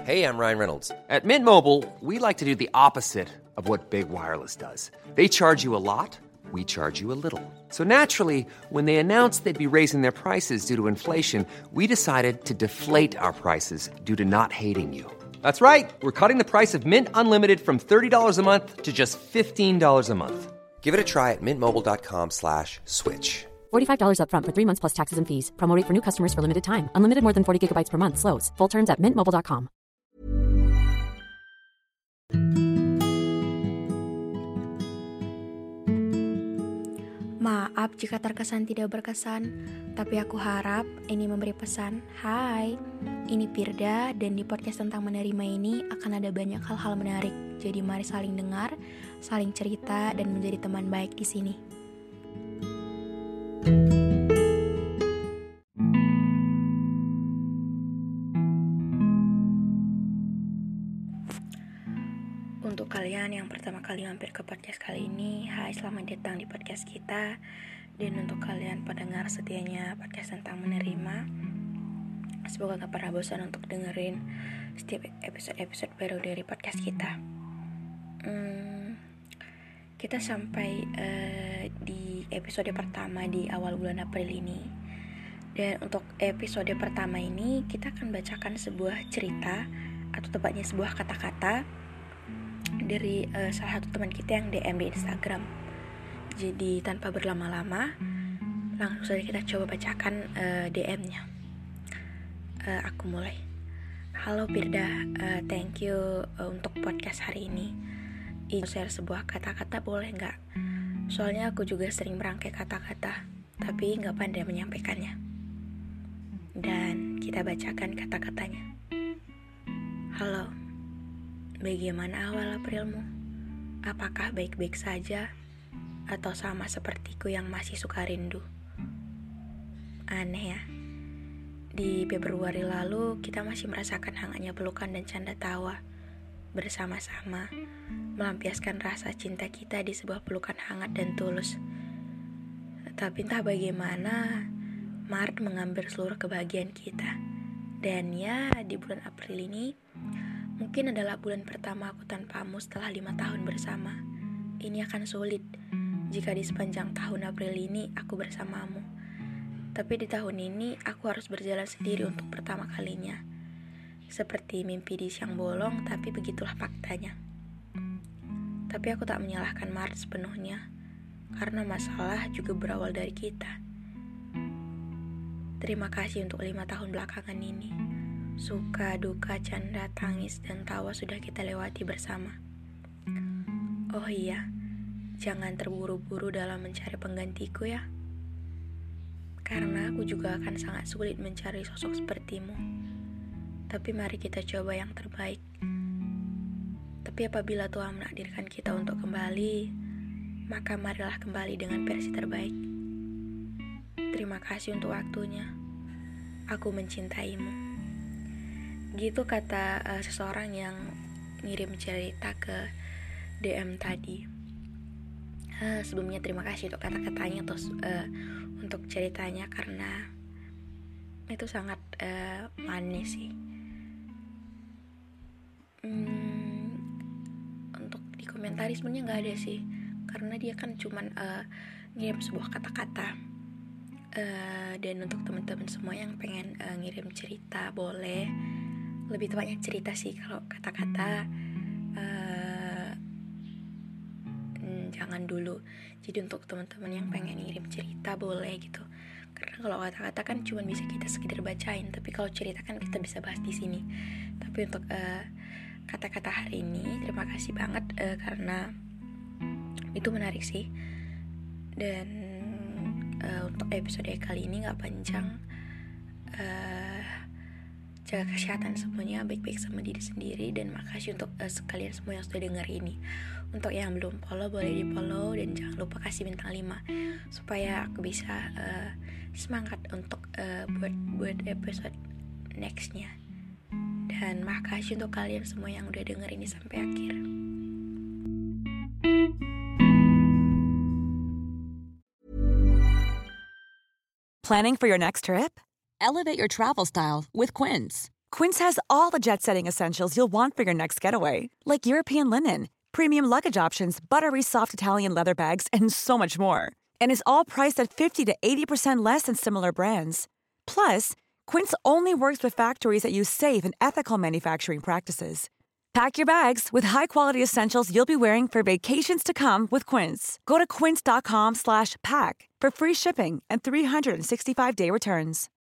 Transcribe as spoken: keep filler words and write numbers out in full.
Hey, I'm Ryan Reynolds. At Mint Mobile, we like to do the opposite of what Big Wireless does. They charge you a lot, we charge you a little. So naturally, when they announced they'd be raising their prices due to inflation, we decided to deflate our prices due to not hating you. That's right. We're cutting the price of Mint Unlimited from thirty dollars a month to just fifteen dollars a month. Give it a try at mintmobile.com slash switch. forty-five dollars up front for three months plus taxes and fees. Promo rate for new customers for limited time. Unlimited more than forty gigabytes per month. Slows full terms at mint mobile dot com. Maaf jika terkesan tidak berkesan, tapi aku harap ini memberi pesan. Hai, ini Firda dan di podcast tentang menerima ini akan ada banyak hal-hal menarik. Jadi mari saling dengar, saling cerita dan menjadi teman baik di sini. Untuk kalian yang pertama kali mampir ke podcast kali ini, hai, selamat datang di podcast kita. Dan untuk kalian pendengar setianya podcast tentang menerima, semoga gak pernah bosan untuk dengerin setiap episode-episode baru dari podcast kita. hmm, Kita sampai uh, di episode pertama di awal bulan April ini. Dan untuk episode pertama ini kita akan bacakan sebuah cerita, atau tepatnya sebuah kata-kata dari uh, salah satu teman kita yang D M di Instagram. Jadi tanpa berlama-lama, langsung saja kita coba bacakan uh, D M-nya. uh, Aku mulai. Halo Firda, uh, thank you uh, untuk podcast hari ini. Ingin share sebuah kata-kata boleh gak? Soalnya aku juga sering merangkai kata-kata, tapi gak pandai menyampaikannya. Dan kita bacakan kata-katanya. Halo, bagaimana awal Aprilmu? Apakah baik-baik saja? Atau sama sepertiku yang masih suka rindu? Aneh ya. Di Februari lalu kita masih merasakan hangatnya pelukan dan canda tawa bersama-sama, melampiaskan rasa cinta kita di sebuah pelukan hangat dan tulus. Tapi entah bagaimana, Maret mengambil seluruh kebahagiaan kita. Dan ya, di bulan April ini mungkin adalah bulan pertama aku tanpamu setelah lima tahun bersama. Ini akan sulit jika di sepanjang tahun April ini aku bersamamu. Tapi di tahun ini aku harus berjalan sendiri untuk pertama kalinya. Seperti mimpi di siang bolong, tapi begitulah faktanya. Tapi aku tak menyalahkan Maret sepenuhnya, karena masalah juga berawal dari kita. Terima kasih untuk lima tahun belakangan ini. Suka, duka, canda, tangis, dan tawa sudah kita lewati bersama. Oh iya, jangan terburu-buru dalam mencari penggantiku ya. Karena aku juga akan sangat sulit mencari sosok sepertimu. Tapi mari kita coba yang terbaik. Tapi apabila Tuhan menakdirkan kita untuk kembali, maka marilah kembali dengan versi terbaik. Terima kasih untuk waktunya. Aku mencintaimu. Gitu kata uh, seseorang yang ngirim cerita ke D M tadi. uh, Sebelumnya terima kasih untuk kata-katanya, terus uh, untuk ceritanya, karena itu sangat uh, manis sih. hmm, Untuk dikomentari sebenarnya gak ada sih, karena dia kan cuman uh, ngirim sebuah kata-kata. uh, Dan untuk teman-teman semua yang pengen uh, ngirim cerita, boleh. Lebih tepatnya cerita sih, kalau kata-kata uh, jangan dulu. Jadi untuk teman-teman yang pengen ngirim cerita boleh gitu. Karena kalau kata-kata kan cuma bisa kita sekedar bacain, tapi kalau cerita kan kita bisa bahas di sini. Tapi untuk uh, kata-kata hari ini, terima kasih banget uh, karena itu menarik sih. Dan uh, untuk episode kali ini nggak panjang. Uh, Jaga kesehatan semuanya, baik-baik sama diri sendiri. Dan makasih untuk uh, sekalian semua yang sudah denger ini. Untuk yang belum follow, boleh di follow. Dan jangan lupa kasih bintang lima, supaya aku bisa uh, semangat untuk uh, buat, buat episode nextnya. Dan makasih untuk kalian semua yang udah denger ini sampai akhir. Planning for your next trip? Elevate your travel style with Quince. Quince has all the jet-setting essentials you'll want for your next getaway, like European linen, premium luggage options, buttery soft Italian leather bags, and so much more. And is all priced at fifty to eighty percent less than similar brands. Plus, Quince only works with factories that use safe and ethical manufacturing practices. Pack your bags with high-quality essentials you'll be wearing for vacations to come with Quince. Go to quince.com slash pack for free shipping and three sixty-five day returns.